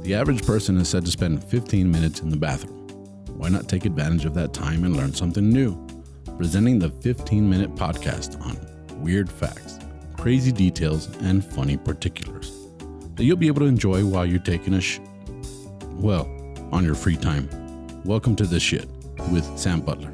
The average person is said to spend 15 minutes in the bathroom. Why not take advantage of that time and learn something new? Presenting the 15-minute podcast on weird facts, crazy details, and funny particulars that you'll be able to enjoy while you're taking on your free time. Welcome to This Shit with Sam Butler.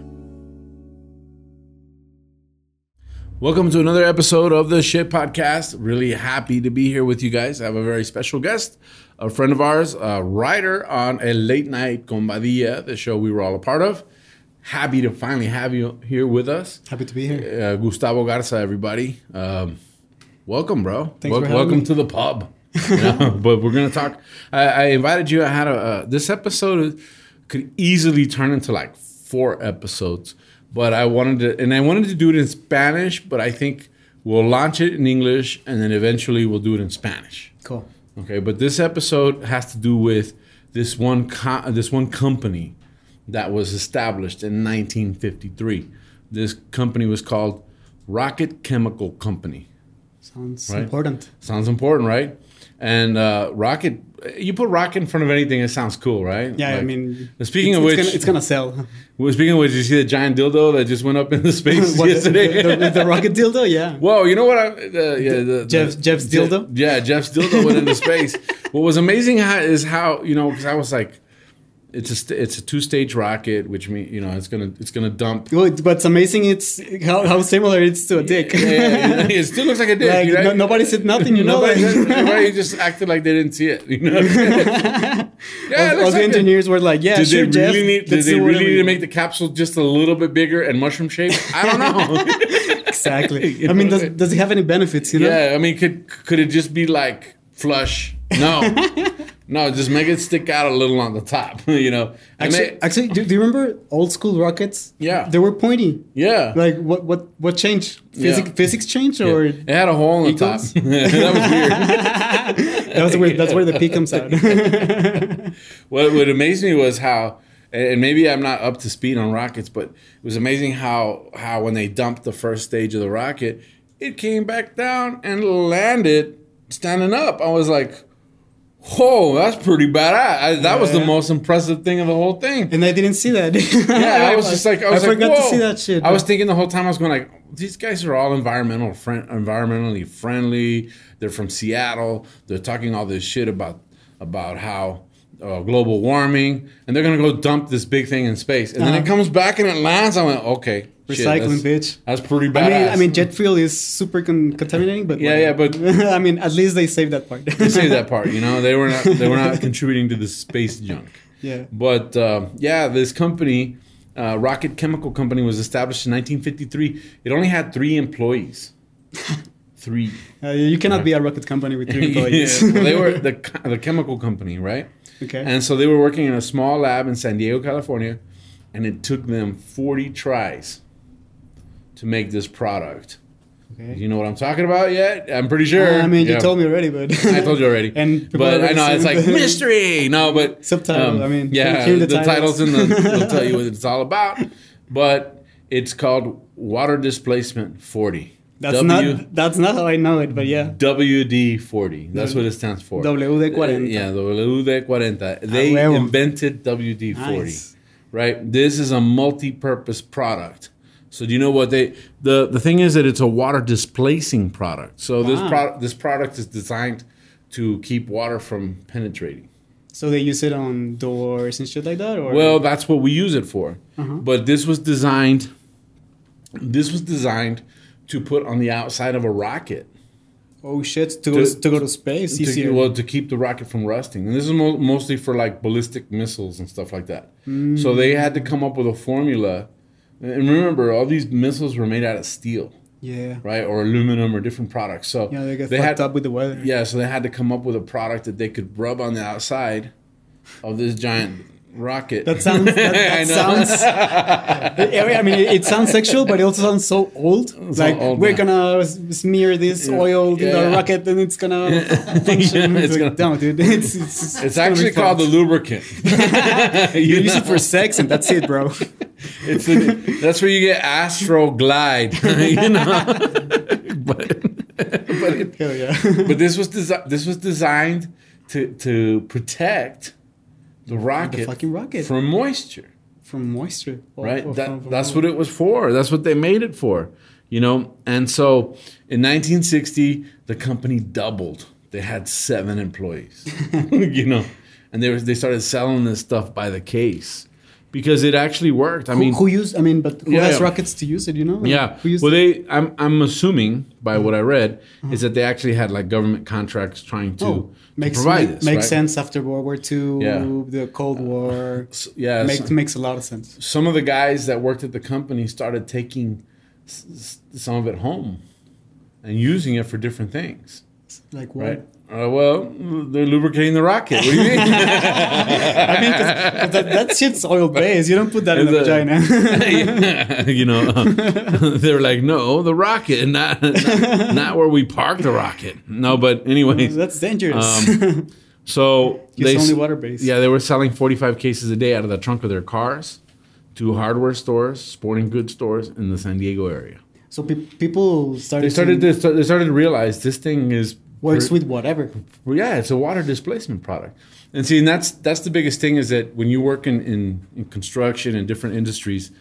Welcome to another episode of the Shit Podcast. Really happy to be here with you guys. I have a very special guest, a friend of ours, a writer on El Late Night con Badilla, the show we were all a part of. Happy to finally have you here with us. Happy to be here. Gustavo Garza, everybody. Welcome, bro. Thanks for having welcome me. To the pub. But we're going to talk. I invited you. I had this episode could easily turn into like 4 episodes. But I wanted to do it in Spanish, but I think we'll launch it in English and then eventually we'll do it in Spanish. Cool. Okay, but this episode has to do with this one company that was established in 1953. This company was called Rocket Chemical Company. Sounds right? important. Sounds important, right? And Rocket, you put Rocket in front of anything, it sounds cool, right? Yeah, like, I mean, speaking of which, it's gonna sell. Well, speaking of which, did you see the giant dildo that just went up into space yesterday? The rocket dildo, yeah. Whoa, you know what? Jeff's dildo? Yeah, Jeff's dildo went into space. What was amazing is how, because I was like, it's a 2-stage rocket, which means it's gonna dump. Well, but it's amazing. It's how similar it's to a dick. Yeah, it still looks like a dick. Like, right? Nobody said nothing. Nobody just acted like they didn't see it. All the engineers were like, "Yeah, sure, Jeff." Did they really need to make the capsule just a little bit bigger and mushroom shaped? I don't know. Exactly. I mean, does it have any benefits? Yeah. I mean, could it just be like flush? No. No, just make it stick out a little on the top, Actually, do you remember old school rockets? Yeah. They were pointy. Yeah. Like, what changed? Physics changed? Or it had a hole in the top. That was weird. That's where the P comes out. What amazed me was how, and maybe I'm not up to speed on rockets, but it was amazing how when they dumped the first stage of the rocket, it came back down and landed standing up. I was like, whoa, that's pretty badass. That was the most impressive thing of the whole thing. And I didn't see that. Yeah, I was just like, I forgot to see that shit. I was thinking the whole time, I was going like, these guys are all environmentally friendly. They're from Seattle. They're talking all this shit about how global warming, and they're going to go dump this big thing in space. And then it comes back and it lands. I went, okay. Recycling, bitch. That's pretty badass. I mean, jet fuel is super contaminating, but but I mean, at least they saved that part. They saved that part. They were not contributing to the space junk. Yeah. But this company, Rocket Chemical Company, was established in 1953. It only had 3 employees. 3. You cannot be a rocket company with 3 employees. Well, they were the chemical company, right? Okay. And so they were working in a small lab in San Diego, California, and it took them 40 tries to make this product. Okay. You know what I'm talking about yet? I'm pretty sure. I mean, you told me already, but I told you already. But I know it's like mystery. No, but subtitle. The titles will tell you what it's all about. But it's called Water Displacement 40. That's not how I know it, but yeah. WD-40. That's what it stands for. WD-40. WD-40. They invented WD-40. Nice. Right? This is a multi-purpose product. So do you know what the thing is that it's a water displacing product. So this product is designed to keep water from penetrating. So they use it on doors and shit like that, or? Well, that's what we use it for. But this was designed to put on the outside of a rocket. Oh shit! To go to space easier. To keep the rocket from rusting, and this is mostly for like ballistic missiles and stuff like that. So they had to come up with a formula. And remember, all these missiles were made out of steel. Yeah. Right? Or aluminum or different products. So they get fucked up with the weather. Yeah, so they had to come up with a product that they could rub on the outside of this giant rocket. That sounds. I mean, it sounds sexual, but it also sounds so old. We're gonna smear this oil in the rocket, and it's gonna function. No, dude, it's actually called the lubricant. You use it for sex, and that's it, bro. That's where you get Astro Glide. But hell yeah. But this was designed to protect the rocket, fucking rocket from moisture. From moisture, right? That's what it was for. That's what they made it for, you know. And so in 1960, the company doubled. They had 7 employees, you know, and they started selling this stuff by the case because it actually worked. I mean, who has rockets to use it? You know? Yeah. Well, I'm assuming by what I read is that they actually had like government contracts trying to provide this. Makes sense after World War II, the Cold War. Makes a lot of sense. Some of the guys that worked at the company started taking some of it home and using it for different things. Like what? Right? Well, they're lubricating the rocket. What do you mean? I mean, cause that shit's oil based. You don't put that in the vagina. You know, they're like, no, the rocket, not where we park the rocket. No, but anyway, that's dangerous. So it's only water based. Yeah, they were selling 45 cases a day out of the trunk of their cars to hardware stores, sporting goods stores in the San Diego area. So people started to realize this thing works with whatever. Yeah, it's a water displacement product. And see, and that's the biggest thing is that when you work in construction and different industries,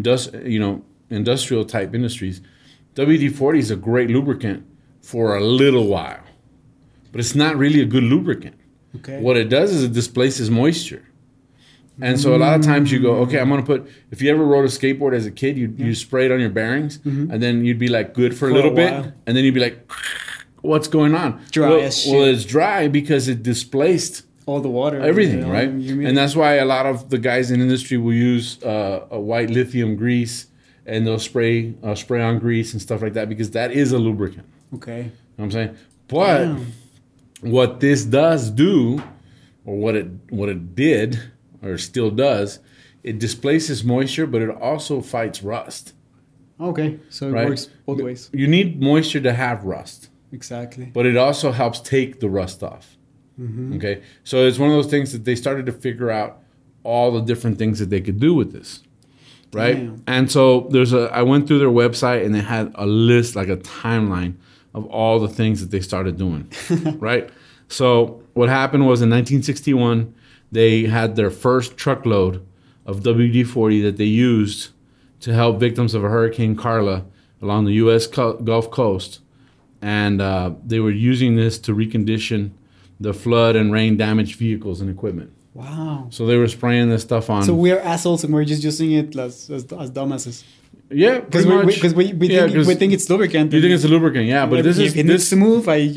industrial type industries, WD-40 is a great lubricant for a little while, but it's not really a good lubricant. Okay. What it does is it displaces moisture. And so a lot of times you go, okay, I'm going to put, if you ever rode a skateboard as a kid, you spray it on your bearings, and then you'd be like good for a little bit, and then you'd be like, what's going on? Dry as shit. Well, it's dry because it displaced all the water. Everything, right? And that's why a lot of the guys in industry will use a white lithium grease, and they'll spray on grease and stuff like that because that is a lubricant. Okay. You know what I'm saying? But what this does do, or what it did, or still does, it displaces moisture, but it also fights rust. Okay, so it works both ways. You need moisture to have rust. Exactly. But it also helps take the rust off. Okay, so it's one of those things that they started to figure out all the different things that they could do with this, right? Damn. And so I went through their website and they had a list, like a timeline of all the things that they started doing, right? So what happened was in 1961, they had their first truckload of WD-40 that they used to help victims of a Hurricane Carla along the U.S. Gulf Coast. And they were using this to recondition the flood and rain damaged vehicles and equipment. Wow. So they were spraying this stuff on. So we're assholes and we're just using it as dumbasses. Yeah, because we think it's lubricant. You think it's a lubricant, yeah, but this needs to move. I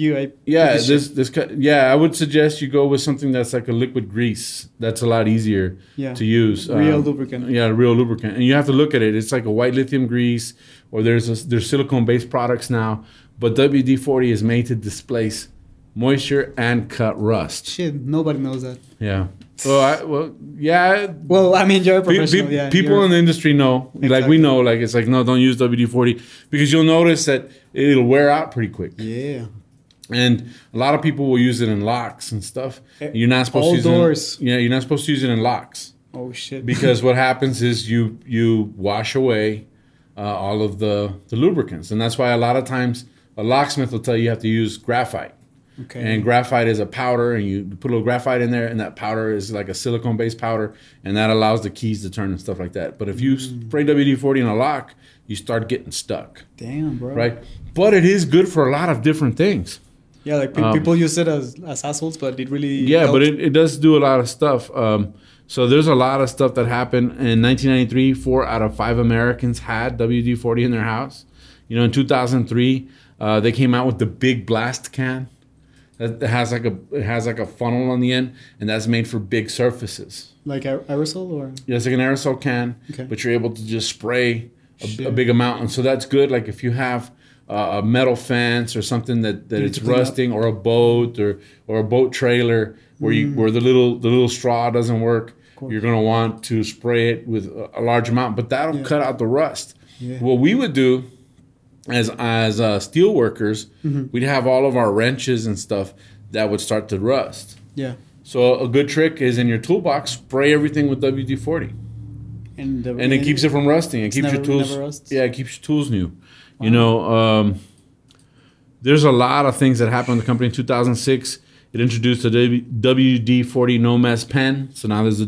would suggest you go with something that's like a liquid grease. That's a lot easier to use. Real lubricant. Yeah, real lubricant, and you have to look at it. It's like a white lithium grease, or there's silicone based products now, but WD-40 is made to displace moisture and cut rust. Shit, nobody knows that. Yeah. Yeah. Well, I mean, you're a professional. People in the industry know. Exactly. Like we know. Like it's like no, don't use WD-40 because you'll notice that it'll wear out pretty quick. Yeah. And a lot of people will use it in locks and stuff. You're not supposed to use doors. You're not supposed to use it in locks. Oh shit. Because what happens is you wash away all of the lubricants, and that's why a lot of times a locksmith will tell you have to use graphite. Okay. And graphite is a powder, and you put a little graphite in there, and that powder is like a silicone-based powder, and that allows the keys to turn and stuff like that. But if you spray WD-40 in a lock, you start getting stuck. Damn, bro. Right? But it is good for a lot of different things. Yeah, like people use it as assholes, but it really helps. But it does do a lot of stuff. So there's a lot of stuff that happened. In 1993, 4 out of 5 Americans had WD-40 in their house. You know, in 2003, they came out with the Big Blast can. It has like a funnel on the end, and that's made for big surfaces. Like aerosol, or yeah, it's like an aerosol can, but you're able to just spray a big amount, and so that's good. Like if you have a metal fence or something that it's rusting, or a boat or a boat trailer where the little straw doesn't work, you're gonna want to spray it with a large amount, but that'll cut out the rust. Yeah. What we would do as steel workers, we'd have all of our wrenches and stuff that would start to rust. Yeah. So a good trick is in your toolbox, spray everything with WD-40, and it keeps it from rusting. It keeps your tools. Yeah, it keeps your tools new. Wow. You know, there's a lot of things that happened in the company in 2006. It introduced a WD-40 no mess pen. So now there's a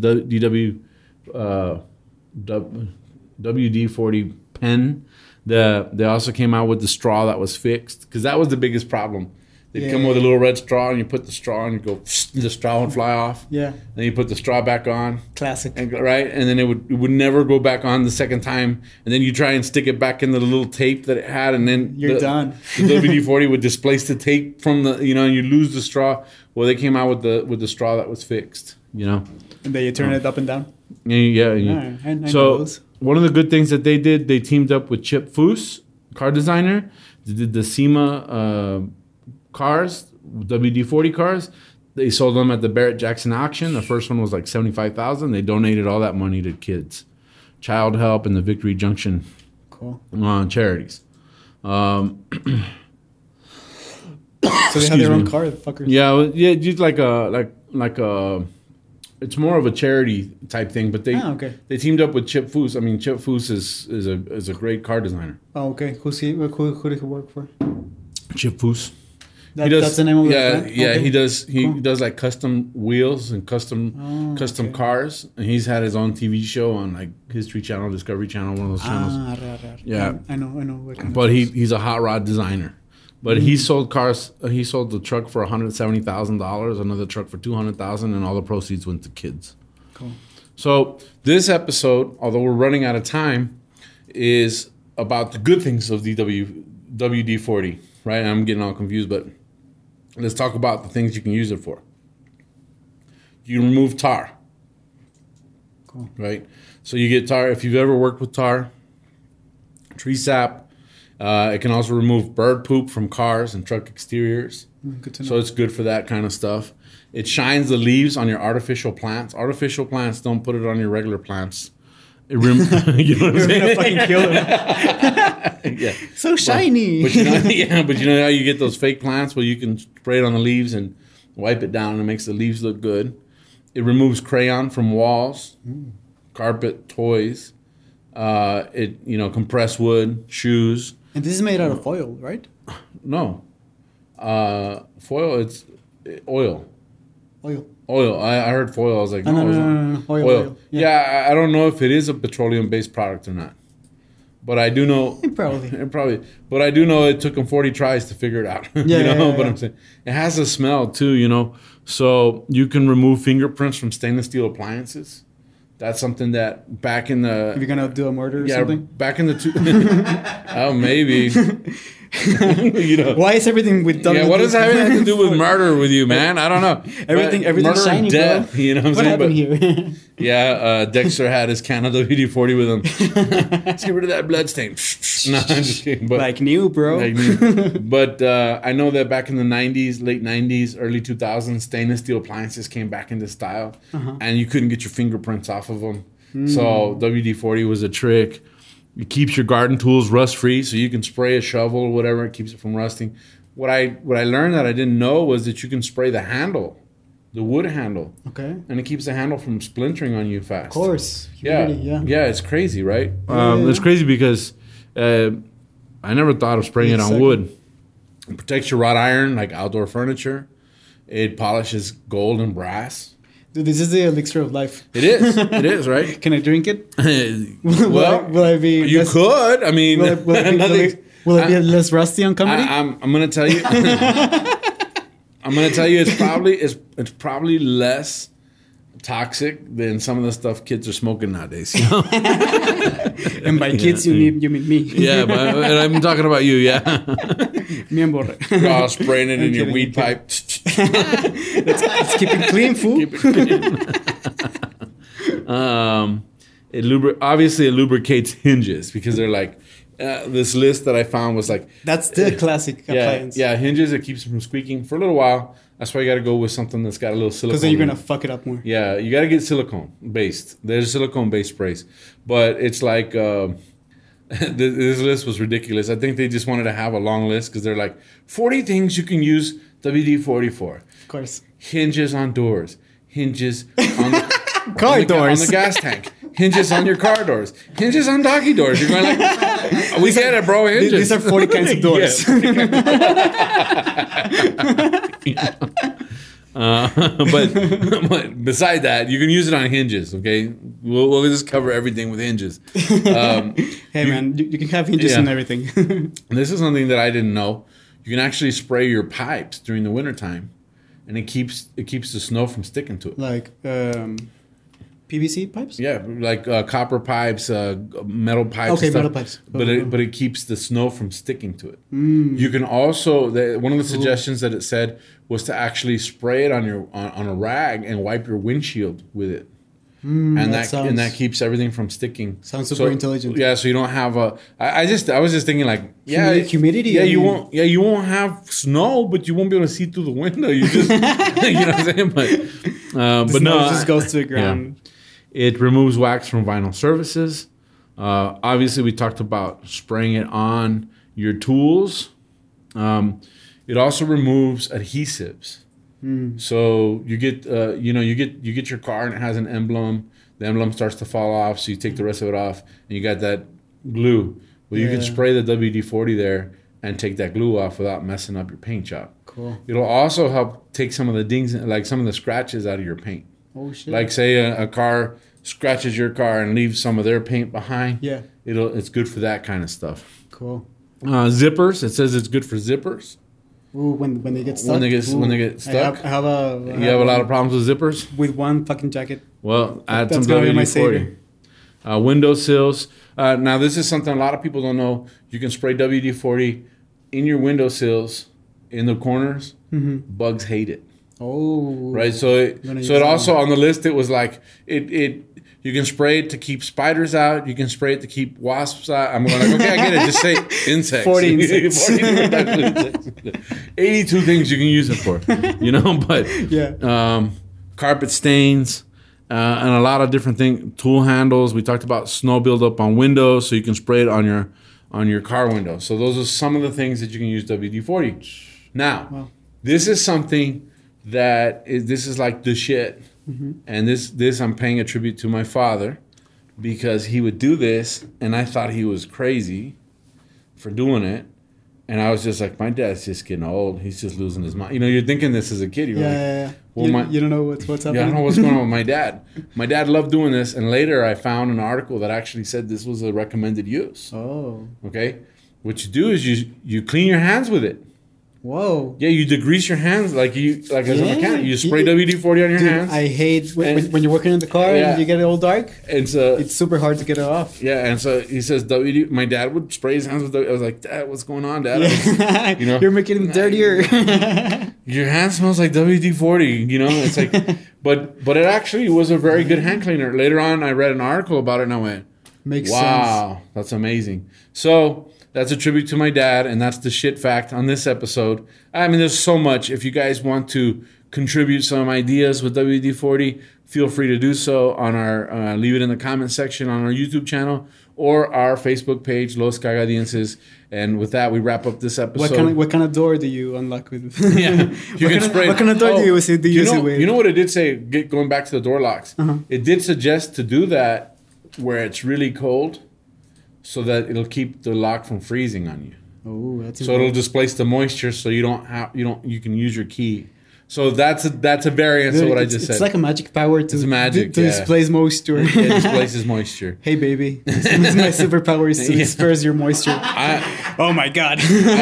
WD-40 pen. They also came out with the straw that was fixed, because that was the biggest problem. They'd come with a little red straw, and you put the straw, and you go, the straw would fly off. Yeah. Then you put the straw back on. Classic. Right? And then it would never go back on the second time. And then you try and stick it back into the little tape that it had, and then you're done. The WD-40 would displace the tape from the, and you lose the straw. Well, they came out with the straw that was fixed, And then you turn it up and down? Yeah. I know So those. one of the good things that they did, they teamed up with Chip Foose, car designer. They did the SEMA cars, WD-40 cars. They sold them at the Barrett-Jackson auction. The first one was like $75,000. They donated all that money to kids, Child Help, and the Victory Junction charities. So they have their own car, the fuckers. Yeah, just like a it's more of a charity type thing, but they teamed up with Chip Foose. I mean, Chip Foose is a great car designer. Oh, okay. Who did he work for? Chip Foose. That's the name of the brand? Yeah, okay. He does like custom wheels and custom cars, and he's had his own TV show on like History Channel, Discovery Channel, one of those channels. Yeah, I know. But he's a hot rod designer. But he sold cars. He sold the truck for $170,000, another truck for $200,000, and all the proceeds went to kids. Cool. So this episode, although we're running out of time, is about the good things of the WD-40. Right? I'm getting all confused, but let's talk about the things you can use it for. You remove tar. Cool. Right? So you get tar. If you've ever worked with tar, tree sap, it can also remove bird poop from cars and truck exteriors. Good to know. So it's good for that kind of stuff. It shines the leaves on your artificial plants. Artificial plants, don't put it on your regular plants. You know what I'm saying? You're gonna fucking kill them. Yeah. So shiny. But you know how you get those fake plants? Well, you can spray it on the leaves and wipe it down, and it makes the leaves look good. It removes crayon from walls, carpet, toys. Compressed wood, shoes. And this is made out of foil, right? No. Foil, it's oil. Oil. I heard foil. I was like, no. Oil. Yeah, I don't know if it is a petroleum-based product or not. But I do know... Probably. But I do know it took them 40 tries to figure it out. But I'm saying, it has a smell too, So you can remove fingerprints from stainless steel appliances. That's something that back in the... If you're going to do a murder or something? Back in the... Oh, maybe. Why is everything with WD? Yeah, what does that have to do with murder with you, man? I don't know. Everything's shiny, death, bro. You know what I'm saying? happened here? Dexter had his can of WD-40 with him. Let's get rid of that blood stain. No, I'm just kidding. But, like new, bro. But I know that back in the 90s, late 90s, early 2000s, stainless steel appliances came back into style. And you couldn't get your fingerprints off of them. So WD-40 was a trick. It keeps your garden tools rust-free, so you can spray a shovel or whatever. It keeps it from rusting. What I learned that I didn't know was that you can spray the handle, the wood handle. Okay. And it keeps the handle from splintering on you fast. Of course. Yeah, it's crazy, right? It's crazy because I never thought of spraying it on wood. It protects your wrought iron, like outdoor furniture. It polishes gold and brass. Dude, this is the elixir of life. It is, right? Can I drink it? Will I be? You could. I mean, will it be less rusty on comedy? I'm going to tell you. I'm going to tell you, it's probably less toxic than some of the stuff kids are smoking nowadays. And by kids, you mean me. Yeah, and I'm talking about you. Yeah. Me and Borre. Spraying it in your weed pipe. Let's keep it clean, fool. Keep it clean. Obviously, it lubricates hinges because they're like, this list that I found was like... That's the classic appliance. Yeah, hinges, it keeps them from squeaking for a little while. That's why you got to go with something that's got a little silicone. Because then you're going to fuck it up more. Yeah, you got to get silicone-based. There's silicone-based sprays. But it's like... this list was ridiculous. I think they just wanted to have a long list because they're like, 40 things you can use WD-40 for. Of course. Hinges on doors. Hinges on the... car doors. On the gas tank. Hinges on your car doors. Hinges on doggy doors. You're going like, we get it, bro. Hinges. These are 40 kinds of doors. But beside that, you can use it on hinges. Okay, we'll just cover everything with hinges. Hey man, you can have hinges and everything. This is something that I didn't know. You can actually spray your pipes during the wintertime, and it keeps the snow from sticking to it. Like PVC pipes? Yeah, like copper pipes, metal pipes. Okay, and stuff, metal pipes. But it keeps the snow from sticking to it. You can also one of the suggestions that it said was to actually spray it on a rag and wipe your windshield with it. And that keeps everything from sticking. Sounds super intelligent. Yeah, so you don't have I was just thinking like humidity. Yeah, you won't have snow, but you won't be able to see through the window. You just you know what I'm saying? But no, it just goes to the ground. Yeah. It removes wax from vinyl surfaces. Obviously, we talked about spraying it on your tools. It also removes adhesives. So you get you get your car and it has an emblem. The emblem starts to fall off, so you take the rest of it off, and you got that glue. Well, you can spray the WD-40 there and take that glue off without messing up your paint job. Cool. It'll also help take some of the dings, like some of the scratches, out of your paint. Oh shit! Like say a car scratches your car and leaves some of their paint behind. Yeah. It's good for that kind of stuff. Cool. Zippers. It says it's good for zippers. Ooh, when they get stuck. When they get stuck. I have a lot of problems with zippers? With one fucking jacket. Well, add some WD-40. Window sills. Now, this is something a lot of people don't know. You can spray WD-40 in your window sills, in the corners. Bugs hate it. Oh. Right. So it also on the list, it was like, you can spray it to keep spiders out. You can spray it to keep wasps out. I'm going like, okay, I get it. Just say insects. 40 insects. 40 insects. 82 things you can use it for, but carpet stains and a lot of different things. Tool handles. We talked about snow buildup on windows, so you can spray it on your car window. So those are some of the things that you can use WD-40. Now, this is something this is like the shit. And this I'm paying a tribute to my father, because he would do this and I thought he was crazy for doing it. And I was just like, my dad's just getting old. He's just losing his mind. You're thinking this as a kid. Well, you don't know what's happening. Yeah, I don't know what's going on with my dad. My dad loved doing this. And later I found an article that actually said this was a recommended use. Oh. Okay. What you do is you clean your hands with it. Whoa. Yeah, you degrease your hands like as a mechanic. You spray WD-40 on your hands. I hate when you're working in the car and you get it all dark. And so it's super hard to get it off. Yeah, and so he says my dad would spray his hands with WD. I was like, Dad, what's going on, Dad? Yeah. You're making them dirtier. Your hand smells like WD-40. It's like, but it actually was a very good hand cleaner. Later on, I read an article about it and I went, makes sense. Wow, that's amazing. So that's a tribute to my dad, and that's the shit fact on this episode. I mean, there's so much. If you guys want to contribute some ideas with WD-40, feel free to do so on our leave it in the comment section on our YouTube channel or our Facebook page, Los Cagadienses. And with that, we wrap up this episode. What kind of door do you unlock with? What kind of door do you use it with? You know what it did say, going back to the door locks? It did suggest to do that where it's really cold, so that it'll keep the lock from freezing on you. Oh, that's so it'll displace the moisture, so you can use your key. So that's a variance of what I just said. It's like a magic power to displace moisture. It displaces moisture. Hey baby, this is my superpower is to disperse your moisture. Oh my god.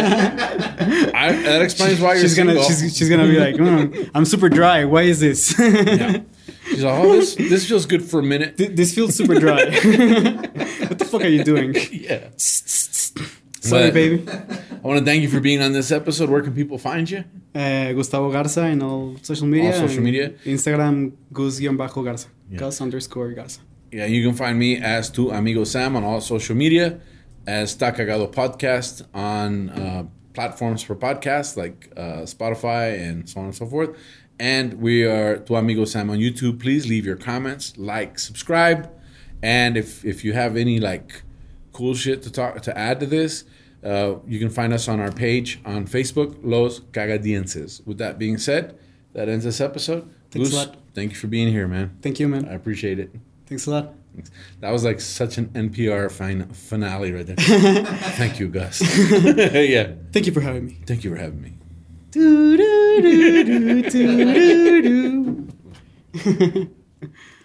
That explains why you're single. She's gonna be like, I'm super dry. Why is this? Yeah. She's like, oh, this feels good for a minute. This feels super dry. What the fuck are you doing? Yeah. Sorry, baby. I want to thank you for being on this episode. Where can people find you? Gustavo Garza in all social media. Instagram, Gus_Garza. Yeah. Gus_Garza. Yeah, you can find me as Tu Amigo Sam on all social media, as Ta Cagado Podcast on platforms for podcasts like Spotify and so on and so forth. And we are Tu Amigo Sam on YouTube. Please leave your comments, subscribe. And if you have any cool shit to add to this, you can find us on our page on Facebook, Los Cagadienses. With that being said, that ends this episode. Thanks a lot. Thank you for being here, man. Thank you, man. I appreciate it. Thanks a lot. Thanks. That was like such an NPR finale right there. Thank you, Gus. Yeah. Thank you for having me. Thank you for having me. do, do, do, do, do.